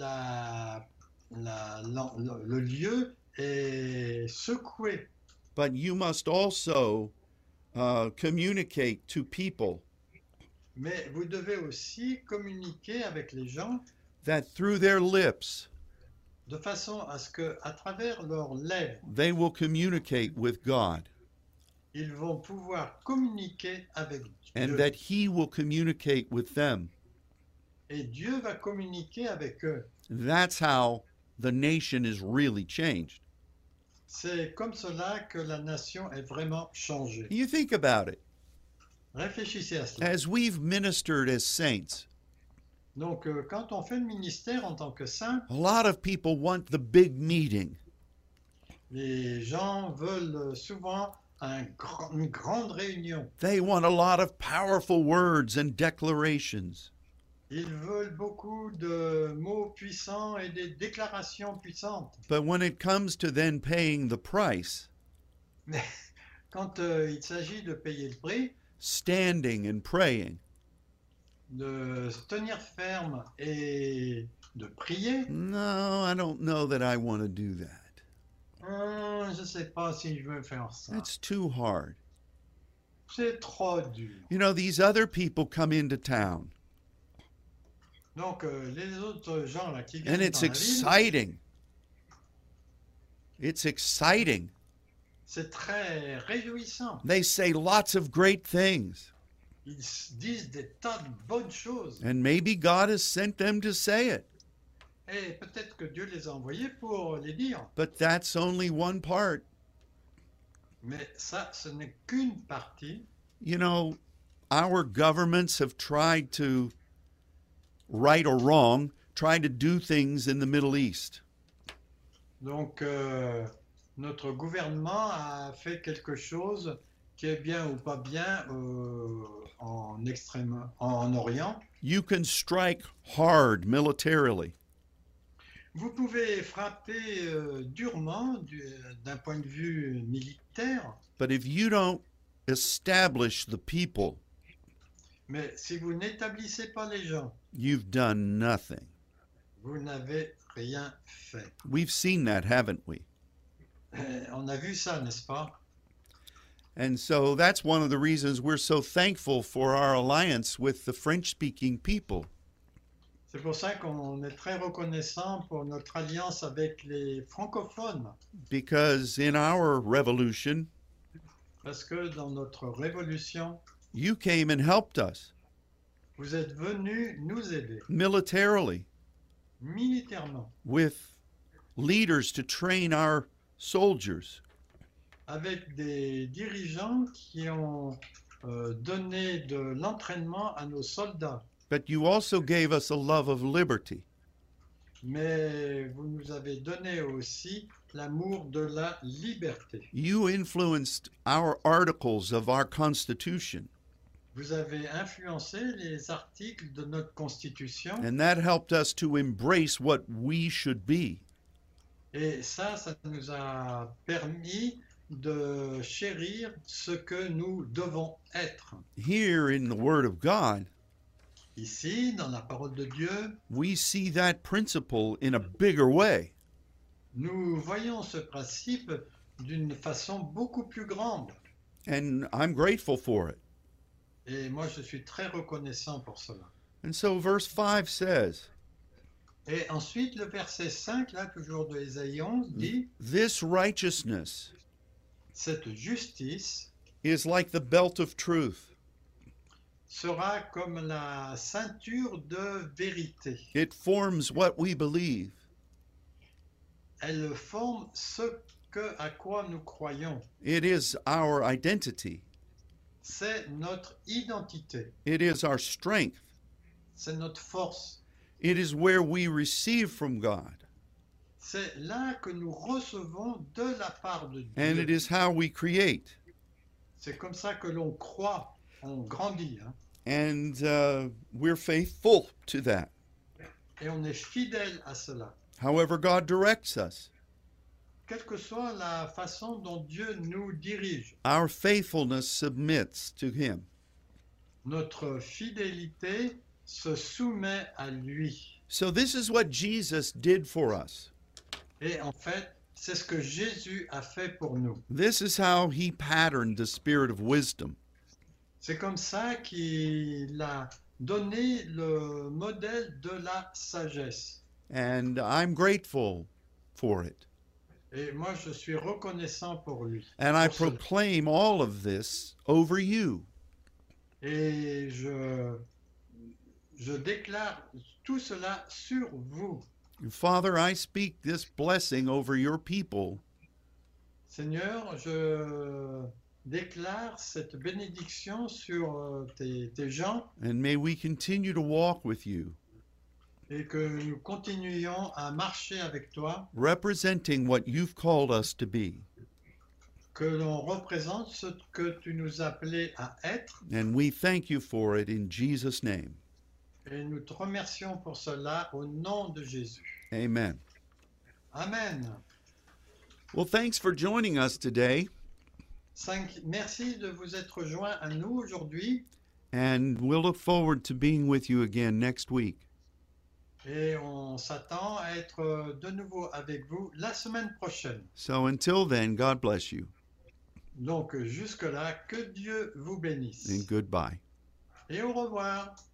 le lieu est secoué. But you must also communicate to people Mais vous devez aussi communiquer avec les gens that through their lips de façon à ce que, à travers leurs lèvres, they will communicate with God ils vont pouvoir communiquer avec and Dieu. that He will communicate with them. Et Dieu va communiquer avec eux. That's how the nation is really changed. C'est comme cela que la nation est vraiment changée. You think about it. Réfléchissez à cela. As we've ministered as saints, Donc, quand on fait le ministère en tant que saint, a lot of people want the big meeting. les gens veulent souvent une grande réunion. They want a lot of powerful words and declarations. Ils veulent beaucoup de mots puissants et des déclarations puissantes. But when it comes to then paying the price, Mais quand il s'agit de payer le prix, standing and praying, de se tenir ferme et de prier, no, I don't know that I want to do that. je ne sais pas si je veux faire ça. That's too hard. C'est trop dur. You know, these other people come into town, Donc, les autres gens là qui and viennent it's dans la ville, exciting. It's exciting. c'est très réjouissant. They say lots of great things, Ils disent des tas de bonnes choses. and maybe God has sent them to say it. Et peut-être que Dieu les a envoyés pour les dire. But that's only one part. Mais ça, ce n'est qu'une partie. You know, our governments have tried to, right or wrong, tried to do things in the Middle East. Donc, notre gouvernement a fait quelque chose qui est bien ou pas bien en Orient. You can strike hard militarily, Vous pouvez frapper durement d'un point de vue militaire, but if you don't establish the people, mais si vous n'établissez pas les gens, you've done nothing. vous n'avez rien fait. We've seen that, haven't we? On a vu ça, n'est-ce pas? And so that's one of the reasons we're so thankful for our alliance with the French-speaking people. C'est pour ça qu'on est très reconnaissant pour notre alliance avec les francophones, Because in our revolution, parce que dans notre révolution, you came and helped us vous êtes venus nous aider militarily militairement, with leaders to train our soldiers. avec des dirigeants qui ont donné de l'entraînement à nos soldats. But you also gave us a love of liberty. Mais vous nous avez donné aussi l'amour de la liberté. You influenced our articles of our Constitution, Vous avez influencé les articles de notre Constitution and that helped us to embrace what we should be. et ça nous a permis de chérir ce que nous devons être. Here in the Word of God, Ici, dans la parole de Dieu, we see that principle in a bigger way. nous voyons ce principe d'une façon beaucoup plus grande. And I'm grateful for it. Et moi, je suis très reconnaissant pour cela. And so verse 5 says, Et ensuite, le verset 5, là, toujours de Ésaïe 11, dit This righteousness « Cette justice is like the belt of truth. sera comme la ceinture de vérité. It forms what we believe. Elle forme à quoi nous croyons. It is our identity. C'est notre identité. It is our strength. C'est notre force. It is where we receive from God. C'est là que nous recevons de la part de Dieu. And it is how we create. C'est comme ça que l'on croit, on grandit. Hein? And we're faithful to that. Et on est fidèle à cela. However God directs us, Quelle que soit la façon dont Dieu nous dirige, our faithfulness submits to Him. notre fidélité se soumet à lui. So this is what Jesus did for us. Et en fait, c'est ce que Jésus a fait pour nous. This is how He patterned the spirit of wisdom. C'est comme ça qu'il a donné le modèle de la sagesse. And I'm grateful for it. Et moi, je suis reconnaissant pour lui. And I pour cela. proclaim all of this over you. Et je déclare tout cela sur vous. Father, I speak this blessing over your people. Seigneur, je déclare cette bénédiction sur tes gens And may we continue to walk with you, et que nous continuions à marcher avec toi, representing what you've called us to be. que l'on représente ce que tu nous appelais à être. And we thank you for it in Jesus' name. Et nous te remercions pour cela au nom de Jésus. Amen. Amen. Well, thanks for joining us today. Merci de vous être joints à nous aujourd'hui. And we'll look forward to being with you again next week. Et on s'attend à être de nouveau avec vous la semaine prochaine. So until then, God bless you Donc jusque-là, que Dieu vous bénisse. and goodbye. Et au revoir.